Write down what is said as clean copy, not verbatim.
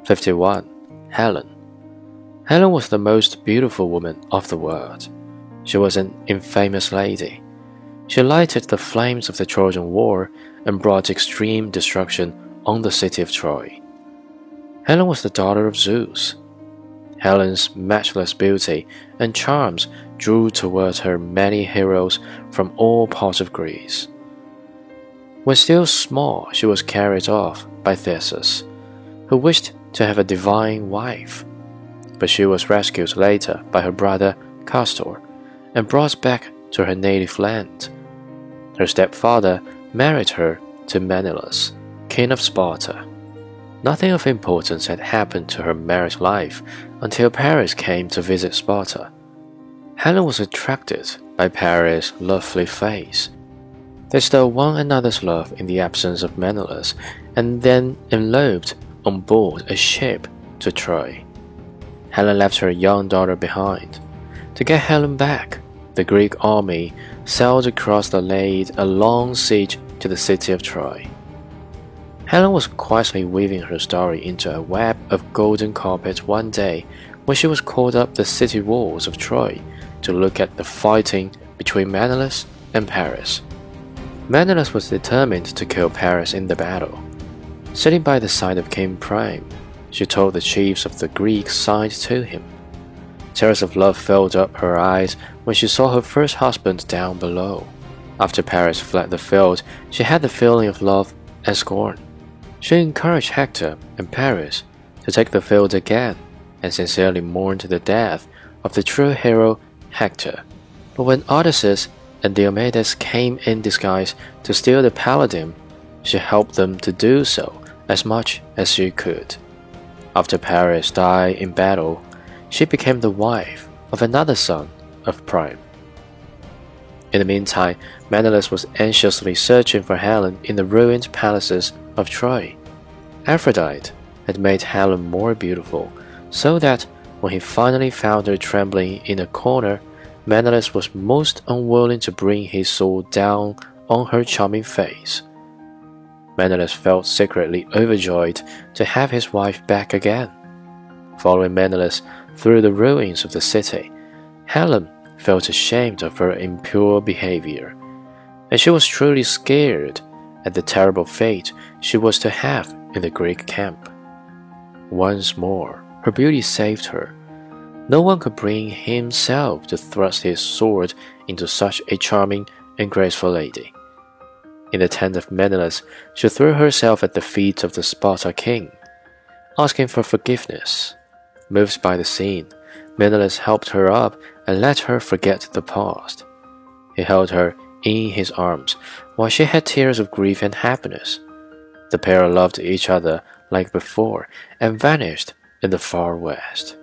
51. Helen. Helen was the most beautiful woman of the world. She was an infamous lady. She lighted the flames of the Trojan War and brought extreme destruction on the city of Troy. Helen was the daughter of Zeus. Helen's matchless beauty and charms drew towards her many heroes from all parts of Greece. When still small, she was carried off by Theseus, who wished to have a divine wife, but she was rescued later by her brother Castor and brought back to her native land. Her stepfather married her to Menelaus, king of Sparta. Nothing of importance had happened to her married life until Paris came to visit Sparta. Helen was attracted by Paris' lovely face. They stole one another's love in the absence of Menelaus and then eloped on board a ship to Troy. Helen left her young daughter behind. To get Helen back, the Greek army sailed across and laid a long siege to the city of Troy. Helen was quietly weaving her story into a web of golden carpet one day when she was called up the city walls of Troy to look at the fighting between Menelaus and Paris. Menelaus was determined to kill Paris in the battle. Sitting by the side of King Priam, she told the chiefs of the Greek side to him. Tears of love filled up her eyes when she saw her first husband down below. After Paris fled the field, she had the feeling of love and scorn. She encouraged Hector and Paris to take the field again and sincerely mourned the death of the true hero Hector. But when Odysseus and Diomedes came in disguise to steal the paladin, she helped them to do so as much as she could. After Paris died in battle, she became the wife of another son of Priam. In the meantime, Menelaus was anxiously searching for Helen in the ruined palaces of Troy. Aphrodite had made Helen more beautiful, so that when he finally found her trembling in a corner, Menelaus was most unwilling to bring his sword down on her charming face. Menelaus felt secretly overjoyed to have his wife back again. Following Menelaus through the ruins of the city, Helen felt ashamed of her impure behavior, and she was truly scared at the terrible fate she was to have in the Greek camp. Once more, her beauty saved her. No one could bring himself to thrust his sword into such a charming and graceful lady. In the tent of Menelaus, she threw herself at the feet of the Sparta king, asking for forgiveness. Moved by the scene, Menelaus helped her up and let her forget the past. He held her in his arms while she had tears of grief and happiness. The pair loved each other like before and vanished in the far west.